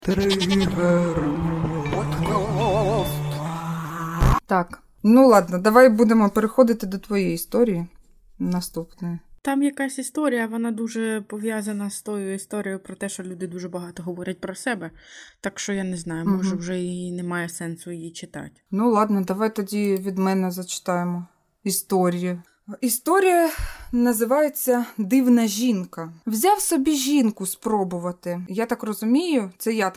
Так, ну ладно, давай будемо переходити до твоєї історії наступної. Там якась історія, вона дуже пов'язана з тою історією про те, що люди дуже багато говорять про себе. Так що я не знаю, може вже і немає сенсу її читати. Ну ладно, давай тоді від мене зачитаємо історію. Історія називається «Дивна жінка». Взяв собі жінку спробувати. Я так розумію,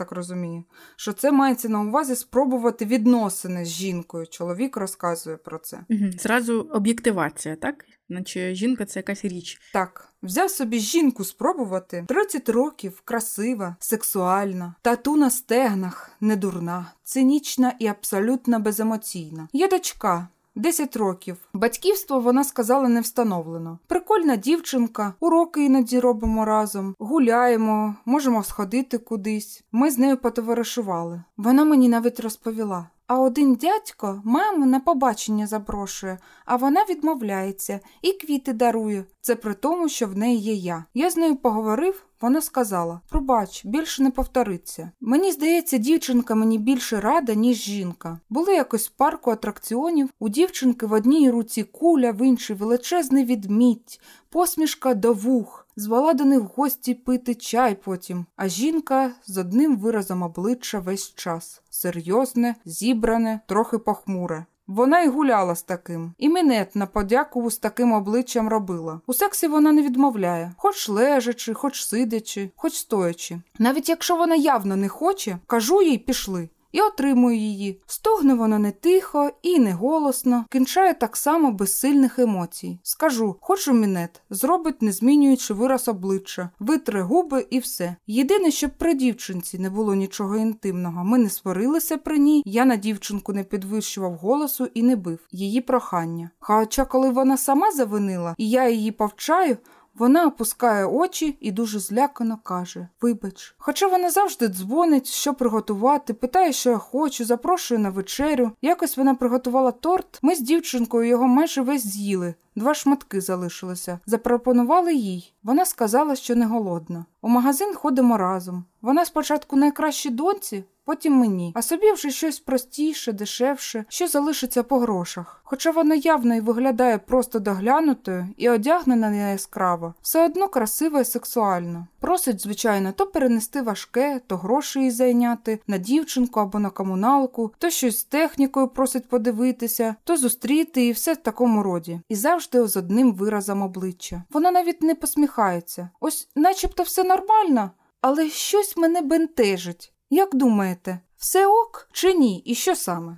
що це мається на увазі спробувати відносини з жінкою. Чоловік розказує про це. Зразу об'єктивація, так? Наче жінка – це якась річ. Так. Взяв собі жінку спробувати. 30 років, красива, сексуальна, тату на стегнах, недурна, цинічна і абсолютно беземоційна. Є дочка. 10 років. Батьківство, вона сказала, не встановлено. Прикольна дівчинка, уроки іноді робимо разом, гуляємо, можемо сходити кудись. Ми з нею потоваришували. Вона мені навіть розповіла. А один дядько маму на побачення запрошує, а вона відмовляється і квіти дарує. Це при тому, що в неї є я. Я з нею поговорив, вона сказала: «Пробач, більше не повториться». Мені здається, дівчинка мені більше рада, ніж жінка. Були якось в парку атракціонів, у дівчинки в одній руці куля, в іншій величезний відмідь, посмішка до вух. Звала до них в гості пити чай потім, а жінка з одним виразом обличчя весь час. Серйозне, зібране, трохи похмуре. Вона й гуляла з таким. І минет на подяку з таким обличчям робила. У сексі вона не відмовляє. Хоч лежачи, хоч сидячи, хоч стоячи. Навіть якщо вона явно не хоче, кажу їй «пішли». І отримую її. Стогне вона не тихо і не голосно, кінчає так само без сильних емоцій. Скажу, хочу мінет, зробить, не змінюючи вираз обличчя, витре губи і все. Єдине, щоб при дівчинці не було нічого інтимного. Ми не сварилися при ній, я на дівчинку не підвищував голосу і не бив. Її прохання. Хоча коли вона сама завинила, і я її повчаю, вона опускає очі і дуже злякано каже: «Вибач». Хоча вона завжди дзвонить, що приготувати, питає, що я хочу, запрошує на вечерю. Якось вона приготувала торт, ми з дівчинкою його майже весь з'їли. 2 шматки залишилося. Запропонували їй. Вона сказала, що не голодна. У магазин ходимо разом. Вона спочатку найкращій доньці, потім мені. А собі вже щось простіше, дешевше, що залишиться по грошах. Хоча вона явно і виглядає просто доглянутою і одягнена не яскраво, все одно красива і сексуальна. Просить, звичайно, то перенести важке, то гроші їй зайняти, на дівчинку або на комуналку, то щось з технікою просить подивитися, то зустріти і все в такому роді. І завжди з одним виразом обличчя. Вона навіть не посміхається. Ось начебто все нормально, але щось мене бентежить. Як думаєте, все ок чи ні? І що саме?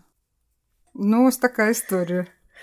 Ну, ось така історія.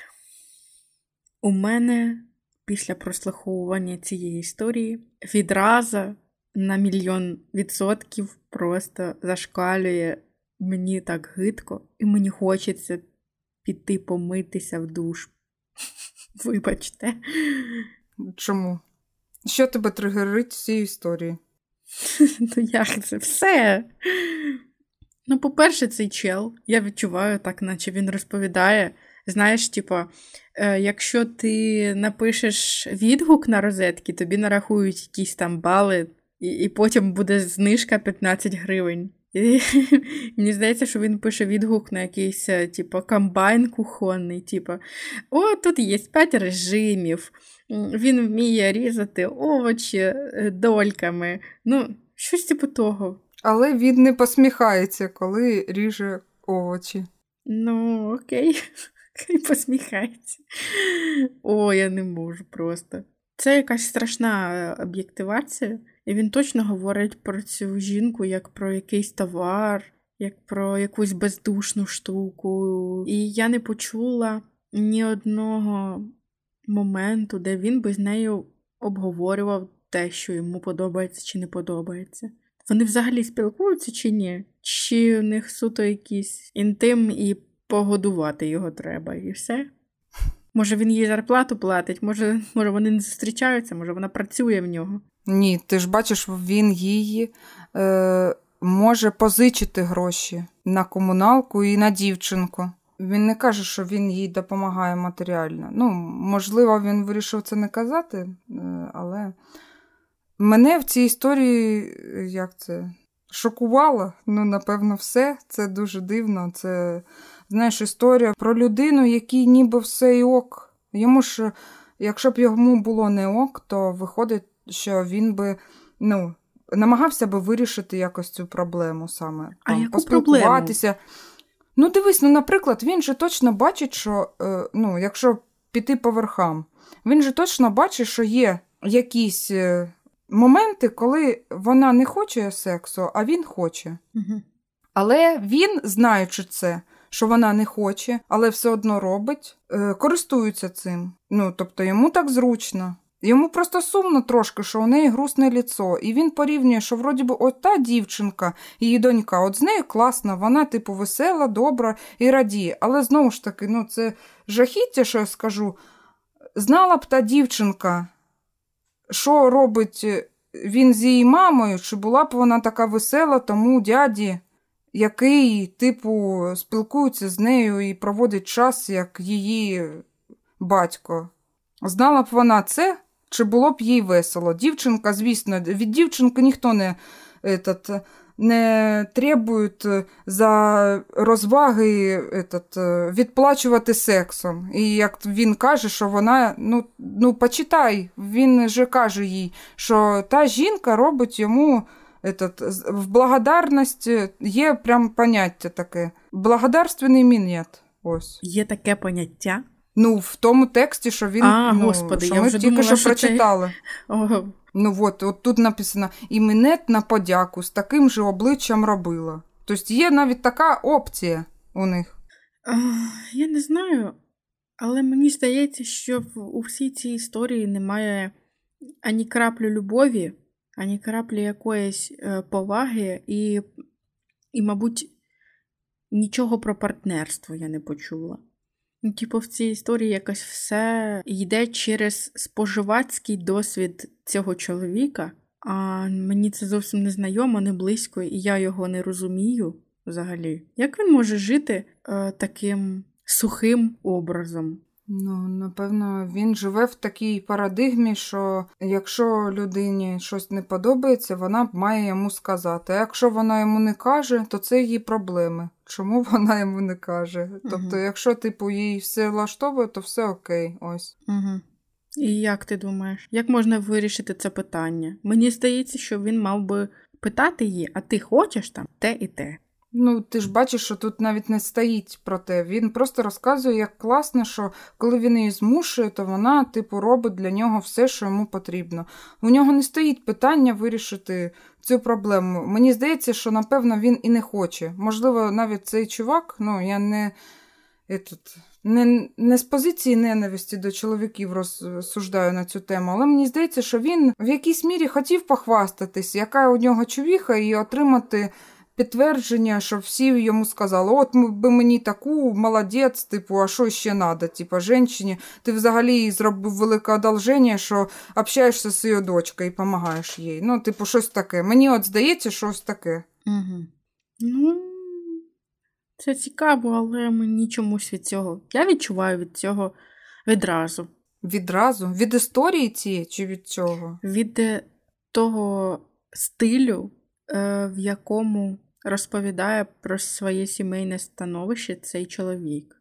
У мене після прослуховування цієї історії відразу на 1,000,000% просто зашкалює. Мені так гидко, і мені хочеться піти помитися в душ. Вибачте. Чому? Що тебе тригерить в цій історії? Ну як це? Все. Ну, по-перше, цей чел, я відчуваю так, наче він розповідає. Знаєш, якщо ти напишеш відгук на розетки, тобі нарахують якісь там бали, і потім буде знижка 15 гривень. І мені здається, що він пише відгук на якийсь, комбайн кухонний, «О, тут є 5 режимів, він вміє різати овочі дольками». Ну, щось того. Але він не посміхається, коли ріже овочі. Ну, окей, хай посміхається. О, я не можу просто. Це якась страшна об'єктивація. І він точно говорить про цю жінку як про якийсь товар, як про якусь бездушну штуку. І я не почула ні одного моменту, де він би з нею обговорював те, що йому подобається чи не подобається. Вони взагалі спілкуються чи ні? Чи у них суто якийсь інтим і погодувати його треба, і все? Може він їй зарплату платить, може вони не зустрічаються, може вона працює в нього. Ні, ти ж бачиш, він її може позичити гроші на комуналку і на дівчинку. Він не каже, що він їй допомагає матеріально. Ну, можливо, він вирішив це не казати, але мене в цій історії, шокувало. Ну, напевно, все. Це дуже дивно. Це, знаєш, історія про людину, якій ніби все і ок. Йому ж, якщо б йому було не ок, то виходить, що він би, намагався би вирішити якось цю проблему саме. А яку поспілкуватися. Проблему? Дивись, наприклад, він же точно бачить, що, якщо піти по верхам, він же точно бачить, що є якісь моменти, коли вона не хоче сексу, а він хоче. Угу. Але він, знаючи це, що вона не хоче, але все одно робить, користується цим. Тобто йому так зручно. Йому просто сумно трошки, що у неї грустне ліцо. І він порівнює, що вроді би от та дівчинка, її донька, от з нею класна, вона весела, добра і радіє. Але знову ж таки, це жахіття, що я скажу. Знала б та дівчинка, що робить він з її мамою, чи була б вона така весела тому дяді, який, спілкується з нею і проводить час, як її батько. Знала б вона це, чи було б їй весело. Дівчинка, звісно, від дівчинки ніхто не требує за розваги відплачувати сексом. І як він каже, що вона, почитай, він же каже їй, що та жінка робить йому в благодарність, є прям поняття таке. Благодарственний мінет. Ось. Є таке поняття? В тому тексті, що він, Господи, що я ми вже тільки думала, що прочитали. Ого. От тут написано, і мінет на подяку з таким же обличчям робила. Тобто є навіть така опція у них. Я не знаю, але мені здається, що у всій цій історії немає ані краплі любові, ані краплі якоїсь поваги і, мабуть, нічого про партнерство я не почула. В цій історії якось все йде через споживацький досвід цього чоловіка, а мені це зовсім не знайомо, не близько, і я його не розумію взагалі. Як він може жити таким сухим образом? Напевно, він живе в такій парадигмі, що якщо людині щось не подобається, вона має йому сказати. А якщо вона йому не каже, то це її проблеми. Чому вона йому не каже? Тобто, якщо, їй все влаштовує, то все окей, ось. Угу. І як ти думаєш? Як можна вирішити це питання? Мені здається, що він мав би питати її, а ти хочеш там те і те? Ти ж бачиш, що тут навіть не стоїть про те. Він просто розказує, як класно, що коли він її змушує, то вона, робить для нього все, що йому потрібно. У нього не стоїть питання вирішити цю проблему. Мені здається, що, напевно, він і не хоче. Можливо, навіть цей чувак, я не з позиції ненависті до чоловіків розсуждаю на цю тему, але мені здається, що він в якійсь мірі хотів похвастатись, яка у нього чувіха, і отримати підтвердження, що всі йому сказали, от би мені таку, молодець, а що ще треба, жінці, ти взагалі їй зробив велике одолження, що общаєшся з її дочкою і допомагаєш їй. Щось таке. Мені здається, щось таке. Угу. Це цікаво, але мені чомусь від цього. Я відчуваю від цього відразу. Відразу? Від історії цієї чи від цього? Від того стилю, в якому розповідає про своє сімейне становище цей чоловік.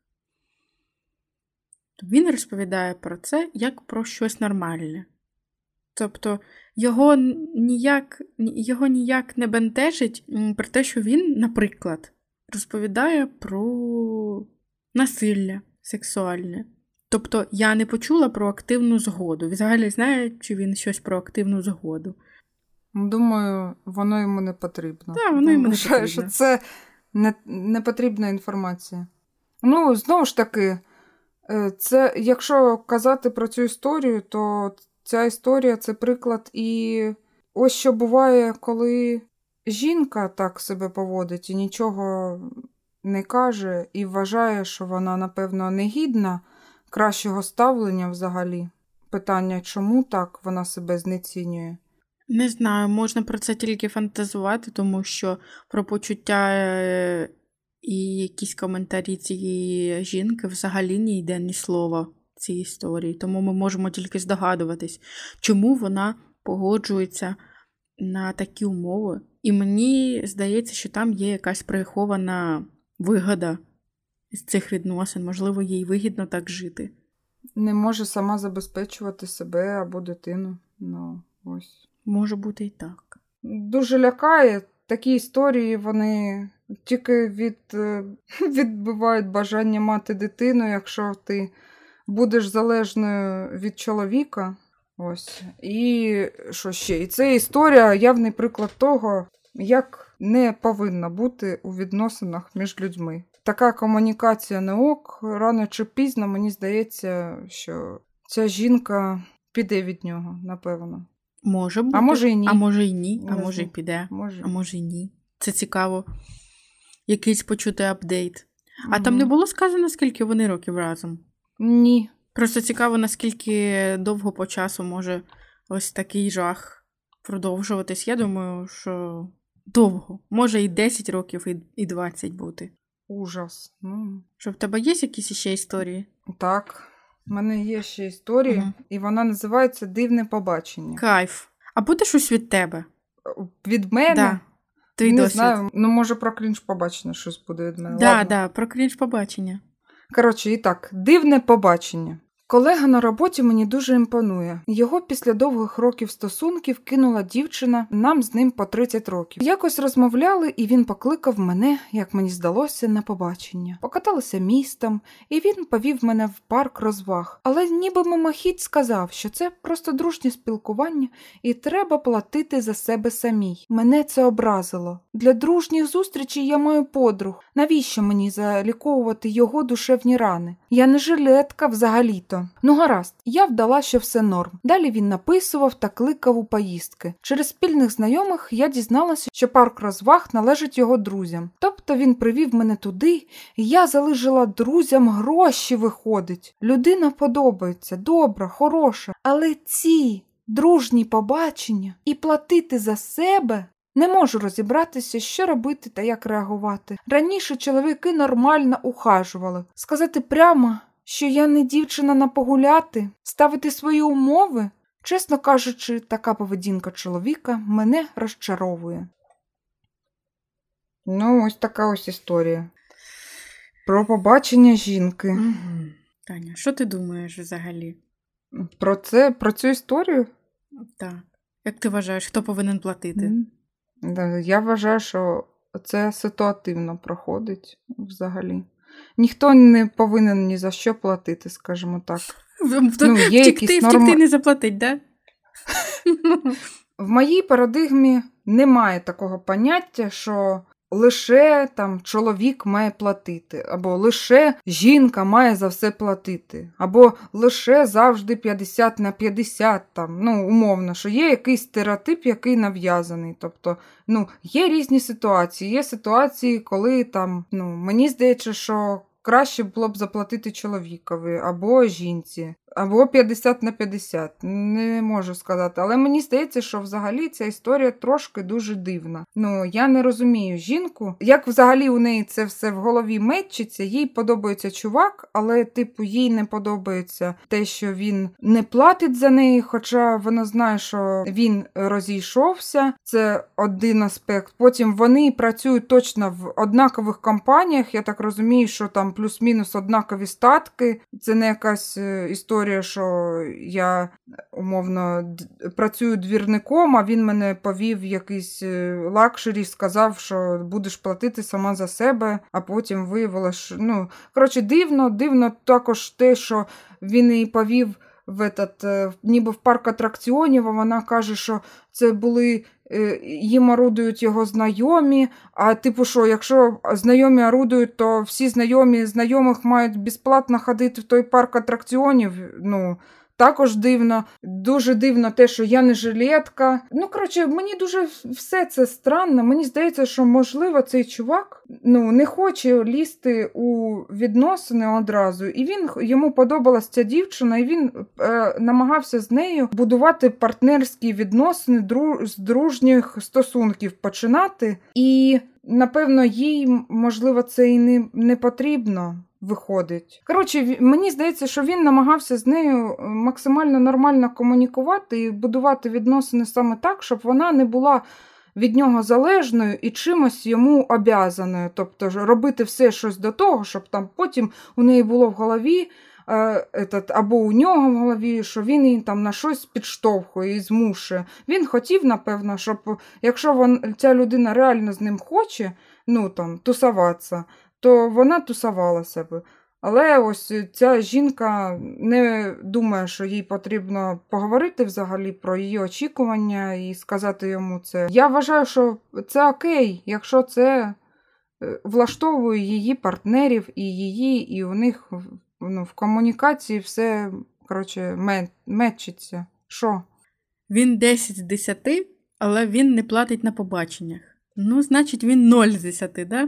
Він розповідає про це як про щось нормальне. Тобто його ніяк не бентежить про те, що він, наприклад, розповідає про насилля сексуальне. Тобто я не почула про активну згоду. Взагалі знає, чи він щось про активну згоду? Думаю, воно йому не потрібно. Так, воно йому не потрібно. Що це не потрібна інформація. Знову ж таки, це, якщо казати про цю історію, то ця історія – це приклад і ось що буває, коли жінка так себе поводить і нічого не каже, і вважає, що вона, напевно, не гідна кращого ставлення взагалі. Питання, чому так вона себе знецінює? Не знаю, можна про це тільки фантазувати, тому що про почуття і якісь коментарі цієї жінки взагалі не йде ні слова в цій історії. Тому ми можемо тільки здогадуватись, чому вона погоджується на такі умови. І мені здається, що там є якась прихована вигода з цих відносин. Можливо, їй вигідно так жити. Не може сама забезпечувати себе або дитину. Ось. Може бути і так. Дуже лякає. Такі історії, вони тільки відбивають бажання мати дитину, якщо ти будеш залежною від чоловіка. Ось. І що ще? І це історія, явний приклад того, як не повинна бути у відносинах між людьми. Така комунікація не ок. Рано чи пізно, мені здається, що ця жінка піде від нього, напевно. Може бути. А може і ні. А може і ні. А може і піде. Може. А може і ні. Це цікаво. Якийсь почути апдейт. А там не було сказано, скільки вони років разом? Ні. Просто цікаво, наскільки довго по часу може ось такий жах продовжуватись. Я думаю, що довго. Може і 10 років, і 20 бути. Ужас. Що в тебе є якісь ще історії? Так. У мене є ще історія, і вона називається «Дивне побачення». Кайф. А буде щось від тебе? Від мене? Да. Твій не досвід. Знаю. Може про крінж побачення щось буде від мене. Да, про крінж побачення. Коротше, і так, дивне побачення. Колега на роботі мені дуже імпонує. Його після довгих років стосунків кинула дівчина, нам з ним по 30 років. Якось розмовляли, і він покликав мене, як мені здалося, на побачення. Покаталися містом, і він повів мене в парк розваг. Але ніби мимохідь сказав, що це просто дружнє спілкування, і треба платити за себе самій. Мене це образило. Для дружніх зустрічей я маю подруг. Навіщо мені заліковувати його душевні рани? Я не жилетка взагалі-то. Гаразд, я вдала, що все норм. Далі він написував та кликав у поїздки. Через спільних знайомих я дізналася, що парк розваг належить його друзям. Тобто він привів мене туди, і я залишила друзям гроші, виходить. Людина подобається, добра, хороша, але ці дружні побачення і платити за себе... Не можу розібратися, що робити та як реагувати. Раніше чоловіки нормально ухажували. Сказати прямо, що я не дівчина на погуляти, ставити свої умови? Чесно кажучи, така поведінка чоловіка мене розчаровує. Ось така ось історія. Про побачення жінки. Угу. Таня, що ти думаєш взагалі? Про цю історію? Так. Як ти вважаєш, хто повинен платити? Я вважаю, що це ситуативно проходить взагалі. Ніхто не повинен ні за що платити, скажімо так. Втекти не заплатить, да? В моїй парадигмі немає такого поняття, що лише чоловік має платити, або лише жінка має за все платити, або лише завжди 50/50, умовно, що є якийсь стереотип, який нав'язаний. Тобто, є різні ситуації. Є ситуації, коли мені здається, що краще було б заплатити чоловікові або жінці, або 50/50. Не можу сказати. Але мені здається, що взагалі ця історія трошки дуже дивна. Я не розумію жінку. Як взагалі у неї це все в голові мечиться, їй подобається чувак, але їй не подобається те, що він не платить за неї, хоча вона знає, що він розійшовся. Це один аспект. Потім вони працюють точно в однакових компаніях. Я так розумію, що там плюс-мінус однакові статки. Це не якась історія, що я, умовно, працюю двірником, а він мене повів в якийсь лакшері, сказав, що будеш платити сама за себе, а потім виявилося, що... дивно також те, що він її повів ніби в парк атракціонів, а вона каже, що це були... їм орудують його знайомі, а що, якщо знайомі орудують, то всі знайомих мають безплатно ходити в той парк атракціонів, також дивно. Дуже дивно те, що я не жилетка. Мені дуже все це странно. Мені здається, що, можливо, цей чувак, не хоче лізти у відносини одразу. І йому подобалась ця дівчина, і він намагався з нею будувати партнерські відносини, з дружніх стосунків починати. І, напевно, їй, можливо, це і не потрібно. виходить. Коротше, мені здається, що він намагався з нею максимально нормально комунікувати і будувати відносини саме так, щоб вона не була від нього залежною і чимось йому обязаною. Тобто робити все щось до того, щоб там потім у неї було в голові, або у нього в голові, що він її там на щось підштовхує і змушує. Він хотів, напевно, щоб якщо ця людина реально з ним хоче, тусуватися, то вона тусувалася б. Але ось ця жінка не думає, що їй потрібно поговорити взагалі про її очікування і сказати йому це. Я вважаю, що це окей, якщо це влаштовує її партнерів і її, і у них в комунікації все, мечиться. Що? Він 10 з 10, але він не платить на побаченнях. Значить, він 0 з 10, да?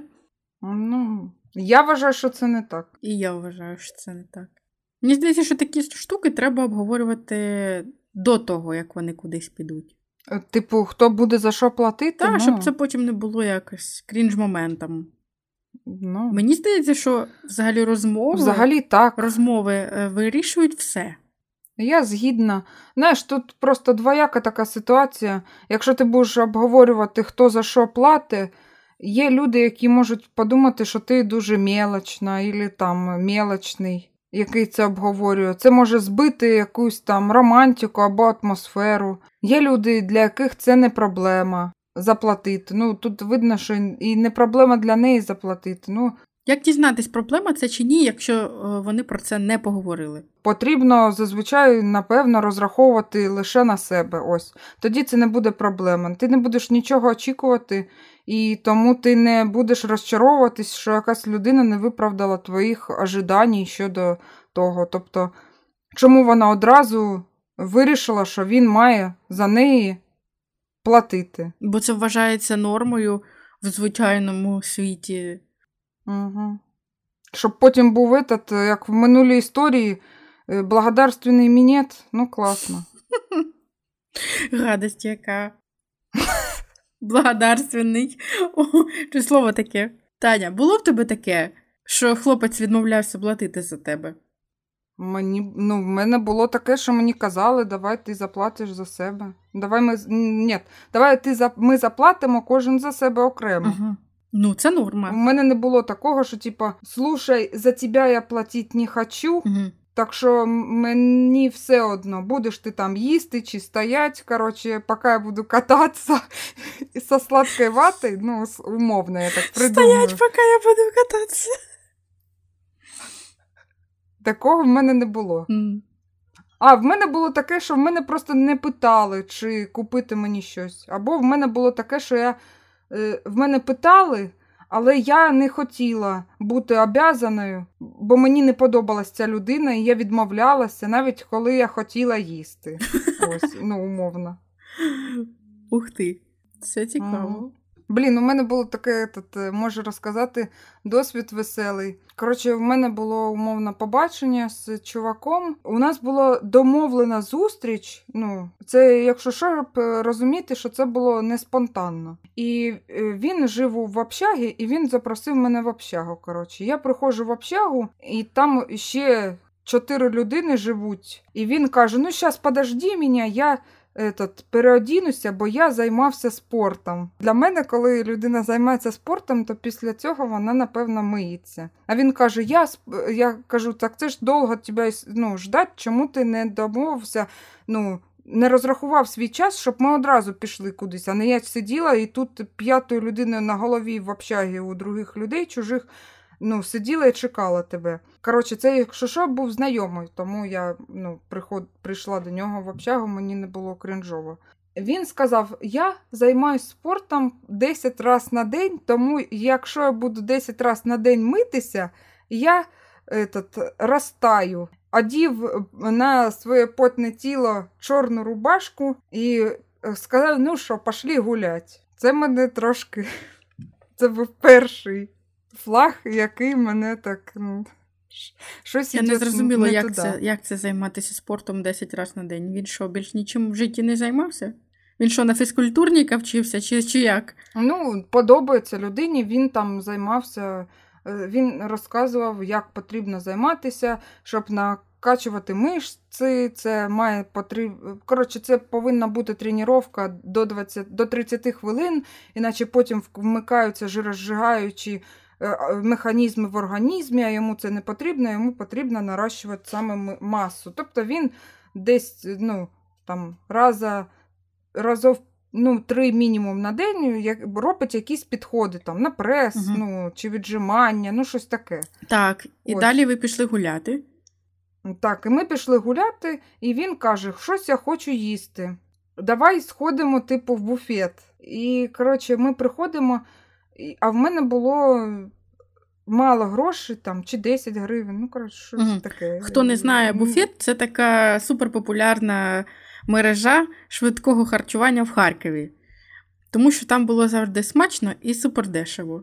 Я вважаю, що це не так. І я вважаю, що це не так. Мені здається, що такі штуки треба обговорювати до того, як вони кудись підуть. Типу, хто буде за що платити? Так, щоб це потім не було якось крінж-моментом. Мені здається, що взагалі розмови вирішують все. Я згідна. Знаєш, тут просто двояка така ситуація. Якщо ти будеш обговорювати, хто за що платить, є люди, які можуть подумати, що ти дуже мелочна, або там мелочний, який це обговорює. Це може збити якусь там романтику або атмосферу. Є люди, для яких це не проблема заплатити. Тут видно, що і не проблема для неї заплатити. Як дізнатись, проблема це чи ні, якщо вони про це не поговорили? Потрібно зазвичай, напевно, розраховувати лише на себе. Ось. Тоді це не буде проблема. Ти не будеш нічого очікувати, і тому ти не будеш розчаровуватись, що якась людина не виправдала твоїх ожидань щодо того. Тобто, чому вона одразу вирішила, що він має за неї платити? Бо це вважається нормою в звичайному світі. Угу. Щоб потім був як в минулій історії, благодарственний мінет. Класно. Гадость яка. Благодарственний. Чи слово таке? Таня, було в тебе таке, що хлопець відмовлявся платити за тебе? В мене було таке, що мені казали, давай ти заплатиш за себе. Ми заплатимо кожен за себе окремо. Угу. Це норма. У мене не було такого, що слушай, за тебе я платити не хочу, так що мені все одно, будеш ти там їсти чи стоять, поки я буду кататися со сладкою ватою, умовно я так придумаю. Стоять, поки я буду кататися. Такого в мене не було. В мене було таке, що в мене просто не питали, чи купити мені щось. Або в мене було таке, що в мене питали, але я не хотіла бути обязаною, бо мені не подобалась ця людина, і я відмовлялася, навіть коли я хотіла їсти. Ось, умовно. Ух ти, це цікаво. У мене було таке, можу розказати, досвід веселий. В мене було умовно побачення з чуваком. У нас була домовлена зустріч. Це, якщо що, розуміти, що це було не спонтанно. І він жив в общагі, і він запросив мене в общагу. Я приходжу в общагу, і там ще 4 людини живуть. І він каже, зараз подожди мене, я переодінуся, бо я займався спортом. Для мене, коли людина займається спортом, то після цього вона, напевно, миється. А він каже, я кажу, так це ж довго тебе ждать, чому ти не домовився, не розрахував свій час, щоб ми одразу пішли кудись, а не я сиділа і тут 5-ю людиною на голові в общагі у других людей, чужих, сиділа і чекала тебе. Це, якщо що, був знайомий, тому я прийшла до нього в общагу, мені не було крінжово. Він сказав, я займаюся спортом 10 разів на день, тому якщо я буду 10 разів на день митися, я розтаю. Одів на своє потне тіло чорну рубашку і сказав, що, пішли гулять. Це мене трошки, це був перший флаг, який мене так, щось я не зрозуміла, як це займатися спортом 10 разів на день. Він що, більш нічим в житті не займався? Він що, на фізкультурника вчився, чи як? Подобається людині, він там займався він розказував, як потрібно займатися, щоб накачувати мишці, це це повинна бути тренування до 30 хвилин, іначе потім вмикаються жирозжигаючі механізми в організмі, а йому це не потрібно, йому потрібно нарощувати саме масу. Тобто він десь разів 3 мінімум на день робить якісь підходи там, на прес, чи віджимання, щось таке. Так, і далі ви пішли гуляти. Так, і ми пішли гуляти, і він каже, щось я хочу їсти. Давай сходимо, в буфет. І, ми приходимо, а в мене було мало грошей, чи 10 гривень, щось таке. Хто не знає, буфет – це така суперпопулярна мережа швидкого харчування в Харкові. Тому що там було завжди смачно і супердешево.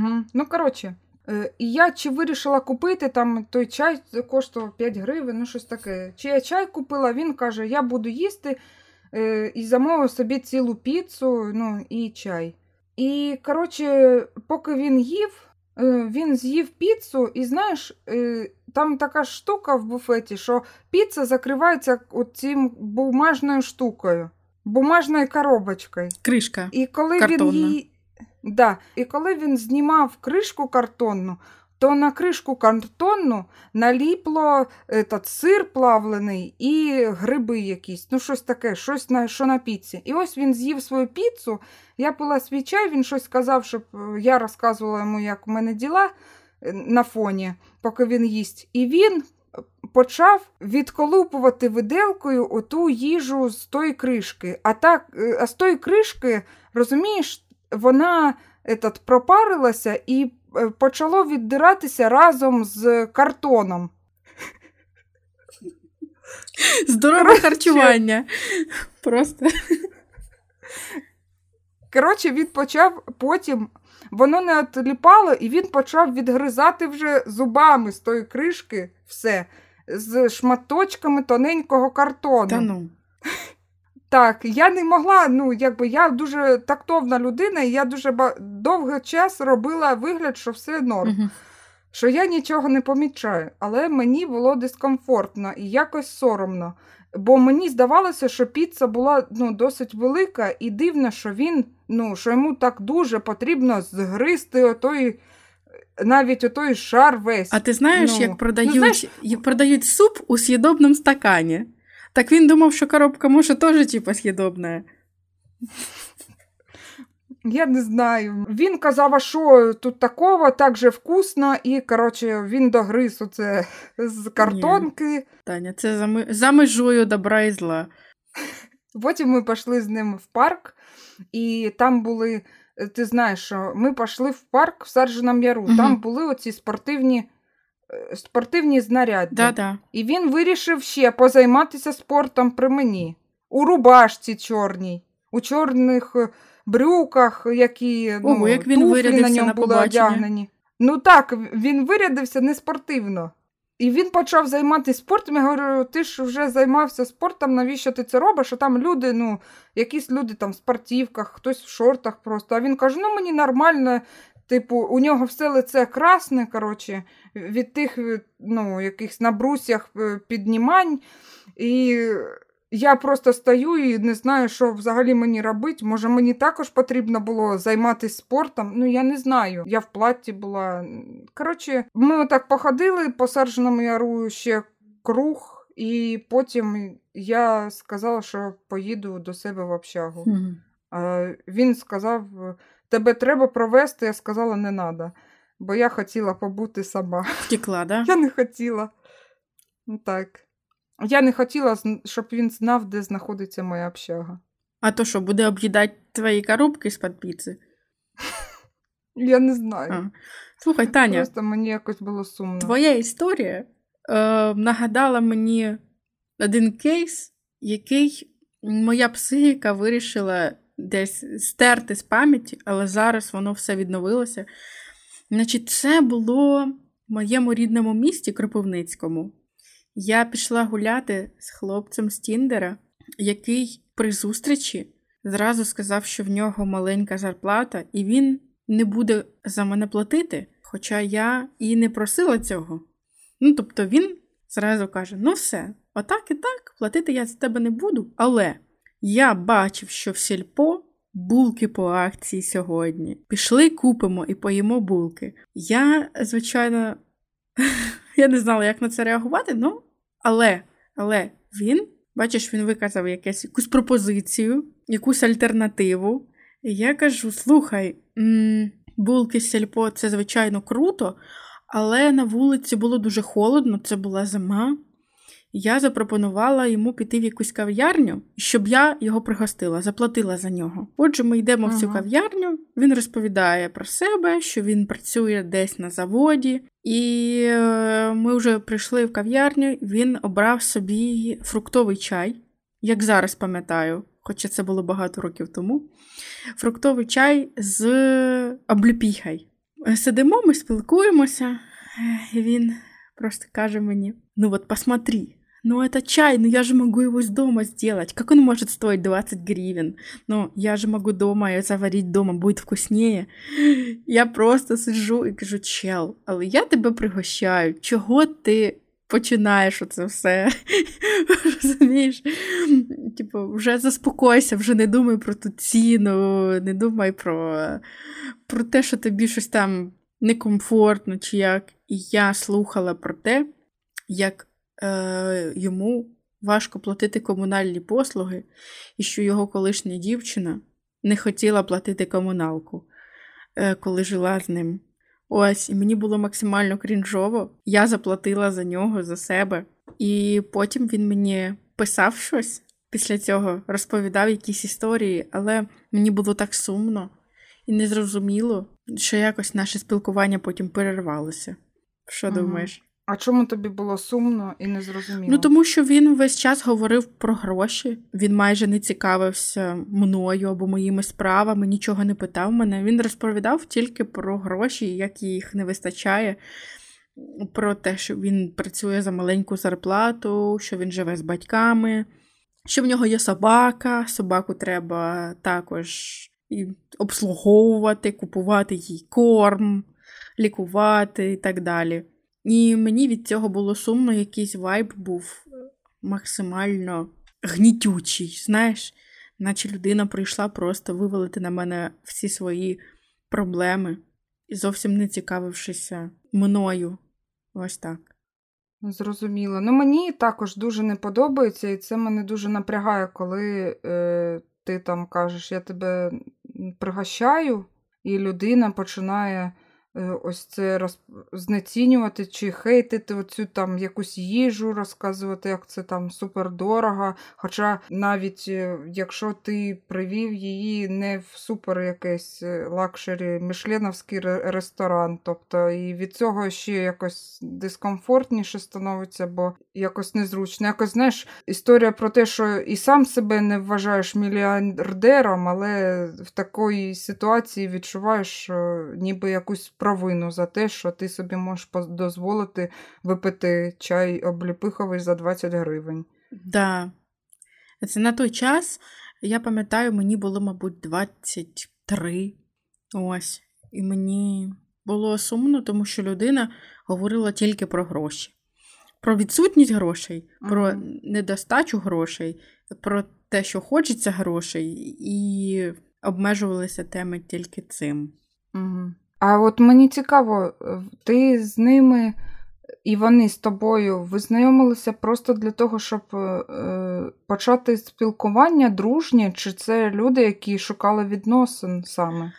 І я вирішила купити, той чай коштував 5 гривень, щось таке. Чи я чай купила, він каже, я буду їсти, і замовив собі цілу піцу, і чай. І, поки він їв, він з'їв піцу, і, знаєш, там така штука в буфеті, що піца закривається цим бумажною штукою, бумажною коробочкою. Кришка і коли картонна. І коли він знімав кришку картонну, то на кришку картонну наліпло сир плавлений і гриби якісь, щось таке, що на піці. І ось він з'їв свою піцу, я пила свій чай, він щось сказав, щоб я розказувала йому, як у мене діла на фоні, поки він їсть. І він почав відколупувати виделкою оту їжу з тої кришки. А з тої кришки, розумієш, вона пропарилася і почало віддиратися разом з картоном. Здорове харчування. Просто. Він почав потім, воно не отліпало, і він почав відгризати вже зубами з тої кришки все, з шматочками тоненького картону. Та ну. Так, я не могла, я дуже тактовна людина, і я дуже довгий час робила вигляд, що все норм, що я нічого не помічаю, але мені було дискомфортно і якось соромно, бо мені здавалося, що піца була досить велика, і дивно, що що йому так дуже потрібно згризти навіть отой шар весь. А ти знаєш, як продають суп у съедобному стакані? Так він думав, що коробка може теж съедобна. Я не знаю. Він казав, а що тут такого, так же вкусно, і, він догриз оце з картонки. Ні. Таня, це за межою добра і зла. Потім ми пішли з ним в парк, і там були, ти знаєш, що ми пішли в парк в Саржиному Яру, там були оці спортивні знаряддя. Да. І він вирішив ще позайматися спортом при мені. У рубашці чорній, у чорних брюках, які як він туфлі на ньому на були одягнені. Так, він вирядився не спортивно. І він почав займатися спортом. Я говорю, ти ж вже займався спортом, навіщо ти це робиш? А там люди, якісь люди там в спортивках, хтось в шортах просто. А він каже, мені нормально, у нього все лице красне, від тих, якихось на брусьях піднімань. І я просто стою і не знаю, що взагалі мені робити. Може, мені також потрібно було займатися спортом? Я не знаю. Я в платті була. Ми отак походили по Саржиному Яру ще круг, і потім я сказала, що поїду до себе в общагу. Він сказав, тебе треба провести, я сказала, не треба, бо я хотіла побути сама. Втекла, да? Я не хотіла. Так. Я не хотіла, щоб він знав, де знаходиться моя общага. А то що, буде об'їдати твої коробки з-під піци? Я не знаю. Слухай, Таня. Просто мені якось було сумно. Твоя історія нагадала мені один кейс, який моя психіка вирішила десь стерти з пам'яті, але зараз воно все відновилося. Це було в моєму рідному місті Кропивницькому. Я пішла гуляти з хлопцем з Тіндера, який при зустрічі зразу сказав, що в нього маленька зарплата, і він не буде за мене платити, Хоча я і не просила цього. Ну, тобто він зразу каже, ну все, отак і так, платити я за тебе не буду. Але я бачив, що в сільпо булки по акції сьогодні. Пішли, купимо і поїмо булки. Я, звичайно, я не знала, як на це реагувати, ну, але він, бачиш, він виказав якусь пропозицію, якусь альтернативу. І я кажу, слухай, булки з сільпо – це, звичайно, круто, але на вулиці було дуже холодно, це була зима. Я запропонувала йому піти в якусь кав'ярню, щоб я його пригостила, заплатила за нього. Отже, ми йдемо в цю кав'ярню, він розповідає про себе, що він працює десь на заводі, і ми вже прийшли в кав'ярню, він обрав собі фруктовий чай, як зараз пам'ятаю, хоча це було багато років тому, фруктовий чай з обліпіхою. Сидимо, ми спілкуємося, і він просто каже мені, ну вот посмотри, ну это чай, ну я же могу его из дома сделать, как он может стоить 20 гривен? Ну я же могу дома ее заварить дома, будет вкуснее. Я просто сиджу і кажу, чел, але я тебе пригощаю, чого ти починаєш оце все? Розумієш? Типу, вже заспокойся, вже не думай про ту ціну, не думай про те, що тобі щось там некомфортно, чи як. І я слухала про те, як йому важко платити комунальні послуги, і що його колишня дівчина не хотіла платити комуналку, коли жила з ним. Ось, і мені було максимально крінжово. Я заплатила за нього, за себе. І потім він мені писав щось після цього, розповідав якісь історії, але мені було так сумно і незрозуміло, що якось наше спілкування потім перервалося. Що думаєш? А чому тобі було сумно і незрозуміло? Ну, тому що він весь час говорив про гроші. Він майже не цікавився мною або моїми справами, нічого не питав мене. Він розповідав тільки про гроші, як їх не вистачає, про те, що він працює за маленьку зарплату, що він живе з батьками, що в нього є собака, собаку треба також і обслуговувати, купувати їй корм, лікувати і так далі. І мені від цього було сумно, якийсь вайб був максимально гнітючий, знаєш, наче людина прийшла просто вивалити на мене всі свої проблеми і зовсім не цікавившися мною. Ось так. Зрозуміло. Ну, мені також дуже не подобається, і це мене дуже напрягає, коли ти там кажеш, я тебе пригощаю, і людина починає ось це знецінювати чи хейтити оцю там якусь їжу, розказувати, як це там супердорого. Хоча навіть якщо ти привів її не в супер якийсь лакшері мішленовський ресторан, тобто і від цього ще якось дискомфортніше становиться, бо якось незручно. Якось, знаєш, історія про те, що і сам себе не вважаєш мільярдером, але в такій ситуації відчуваєш ніби якусь провину за те, що ти собі можеш дозволити випити чай обліпиховий за 20 гривень. Да. Це на той час, я пам'ятаю, мені було, мабуть, 23. Ось. І мені було сумно, тому що людина говорила тільки про гроші. Про відсутність грошей, про недостачу грошей, про те, що хочеться грошей, і обмежувалися теми тільки цим. А от мені цікаво, ти з ними і вони з тобою ви знайомилися просто для того, щоб почати спілкування дружнє, чи це люди, які шукали відносин саме?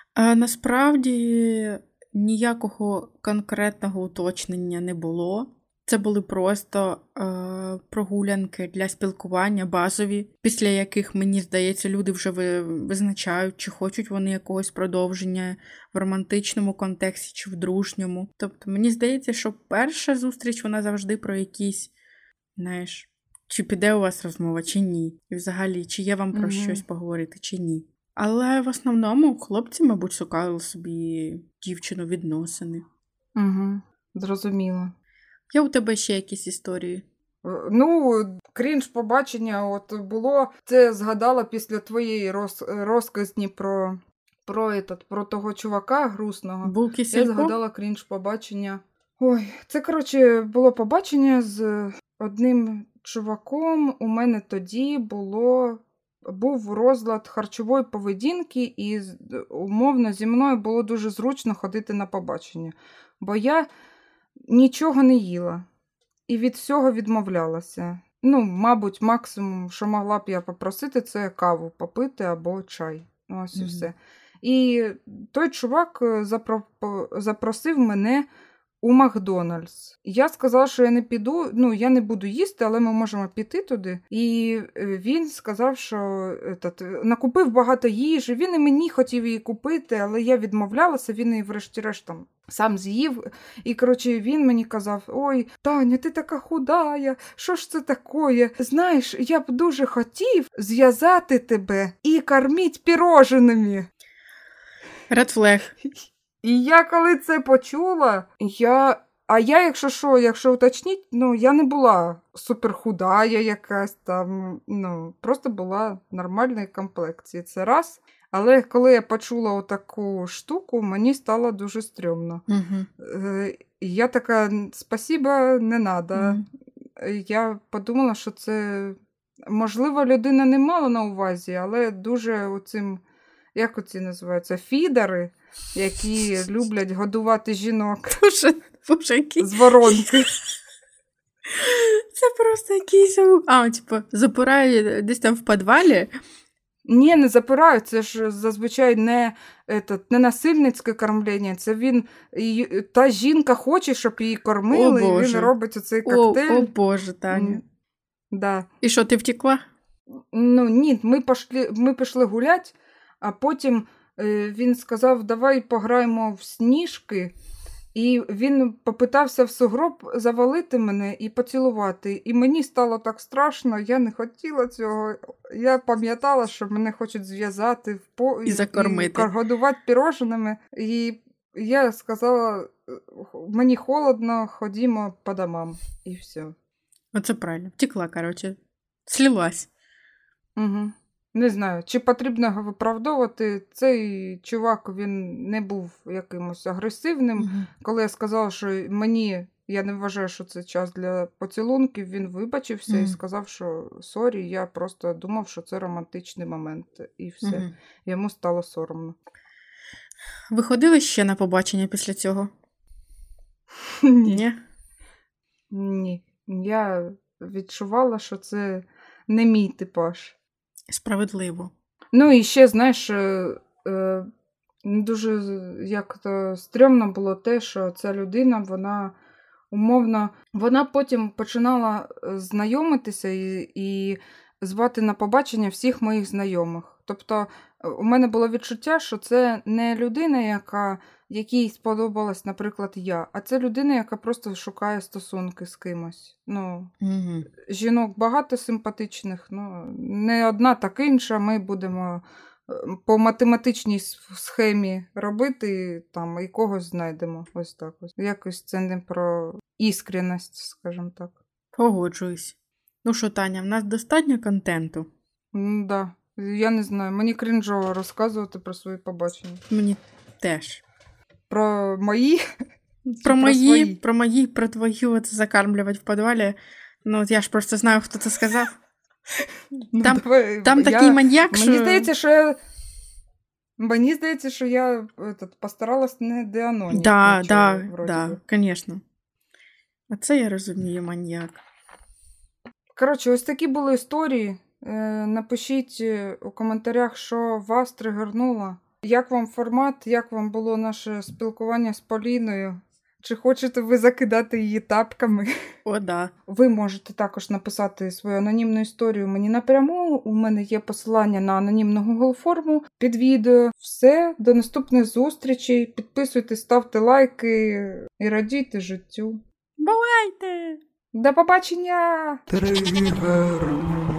Насправді ніякого конкретного уточнення не було. Це були просто прогулянки для спілкування базові, після яких, мені здається, люди вже визначають, чи хочуть вони якогось продовження в романтичному контексті, чи в дружньому. Тобто, мені здається, що перша зустріч, вона завжди про якісь, знаєш, чи піде у вас розмова, чи ні. І взагалі, чи є вам про щось поговорити, чи ні. Але в основному хлопці, мабуть, шукали собі дівчину відносини. Зрозуміло. Є у тебе ще якісь історії? Ну, крінж побачення от було. Це згадала після твоєї розказні про про того чувака грустного. Булки Я згадала крінж побачення. Ой, це, коротше, було побачення з одним чуваком. У мене тоді був розлад харчової поведінки, і умовно зі мною було дуже зручно ходити на побачення. Бо я нічого не їла і від всього відмовлялася. Мабуть, максимум, що могла б я попросити, це каву попити або чай. Ось і все. І той чувак запросив мене у Макдональдс. Я сказала, що я не піду, я не буду їсти, але ми можемо піти туди. І він сказав, що накупив багато їжі, він і мені хотів її купити, але я відмовлялася, він її врешті-решт там сам з'їв. І, коротше, він мені казав: ой, Таня, ти така худая, що ж це таке? Знаєш, я б дуже хотів зв'язати тебе і корміть піроженими. Red flag. І я коли це почула, якщо уточніть, я не була суперхудая якась там, просто була нормальної комплекції, це раз. Але коли я почула отаку штуку, мені стало дуже стрьомно. Я така: спасіба, не надо. Я подумала, що це, можливо, людина не мала на увазі, але дуже оцим, як оці називаються, фідери, які люблять годувати жінок з воронки. Це просто якийсь... запирає десь там в підвалі? Ні, не запирають, це ж зазвичай не насильницьке кормлення, це та жінка хоче, щоб її кормили, і він робить оцей коктейль. О Боже, Таня. Да. І що, ти втекла? Ні, ми пішли гуляти, а потім він сказав: давай пограємо в сніжки. І він попитався в сугроб завалити мене і поцілувати. І мені стало так страшно, я не хотіла цього. Я пам'ятала, що мене хочуть зв'язати і закормити. І годувати піроженими. І я сказала: мені холодно, ходімо по домам. І все. Оце правильно. Втекла, коротше. Слилась. Угу. Не знаю, чи потрібно його виправдовувати. Цей чувак, він не був якимось агресивним. Коли я сказала, що я не вважаю, що це час для поцілунків, він вибачився і сказав, що сорі, я просто думав, що це романтичний момент. І все. Йому стало соромно. Ви ходили ще на побачення після цього? Ні. Ні. Я відчувала, що це не мій типаж. Справедливо. І ще, знаєш, дуже як-то стрьомно було те, що ця людина, вона умовно, вона потім починала знайомитися і звати на побачення всіх моїх знайомих. Тобто у мене було відчуття, що це не людина, якій сподобалась, наприклад, я, а це людина, яка просто шукає стосунки з кимось. Жінок багато симпатичних, не одна, так інша. Ми будемо по математичній схемі робити там і когось знайдемо. Ось так ось. Якось це не про іскренність, скажімо так. Погоджуюсь. Що, Таня, в нас достатньо контенту? Да. Я не знаю, мені крінжово розказувати про свої побачення. Мені теж. Про мої? Про твою закармлювати в підвалі. Я ж просто знаю, хто це сказав. Там такий маньяк, що... Мені здається, що я постаралась не деанонити. Да, звісно. А це я розумію, маньяк. Коротше, ось такі були історії. Напишіть у коментарях, що вас тригернуло. Як вам формат, як вам було наше спілкування з Поліною? Чи хочете ви закидати її тапками? О, да. Ви можете також написати свою анонімну історію мені напряму. У мене є посилання на анонімну Google форму під відео. Все, до наступних зустрічей. Підписуйтесь, ставте лайки і радійте життю. Бувайте! До побачення! Тригер.